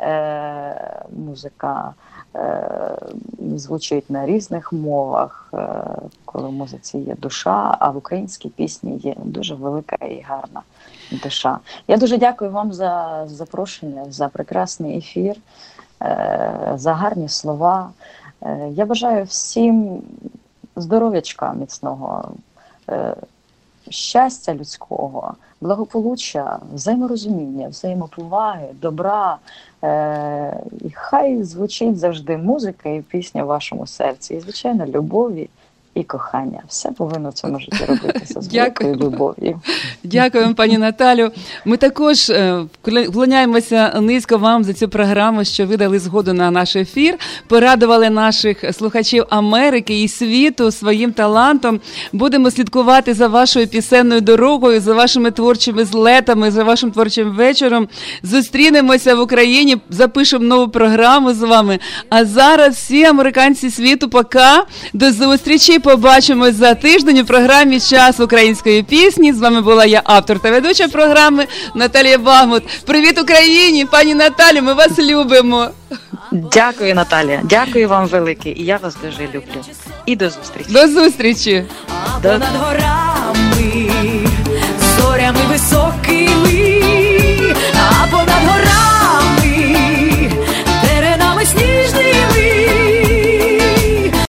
Speaker 3: Музика звучить на різних мовах, коли в музиці є душа, а в українській пісні є дуже велика і гарна душа. Я дуже дякую вам за запрошення, за прекрасний ефір, за гарні слова. Я бажаю всім здоров'ячка міцного, щастя людського, благополуччя, взаєморозуміння, взаємоповаги, добра. І хай звучить завжди музика і пісня в вашому серці. І, звичайно, любові і кохання. Все повинно в цьому житті робитися з великою любов'ю.
Speaker 2: Дякую, пані Наталю. Ми також вклоняємося низько вам за цю програму, що ви дали згоду на наш ефір, порадували наших слухачів Америки і світу своїм талантом. Будемо слідкувати за вашою пісенною дорогою, за вашими творчими злетами, за вашим творчим вечором. Зустрінемося в Україні, запишемо нову програму з вами. А зараз всі американці світу, пока. До зустрічі. Побачимось за тиждень у програмі «Час української пісні». З вами була я, автор та ведуча програми Наталія Багмут. Привіт Україні! Пані Наталю, ми вас любимо!
Speaker 3: Дякую, Наталія. Дякую вам велике. І я вас дуже люблю. І до зустрічі.
Speaker 2: До зустрічі!
Speaker 1: Над горами, зорями високими.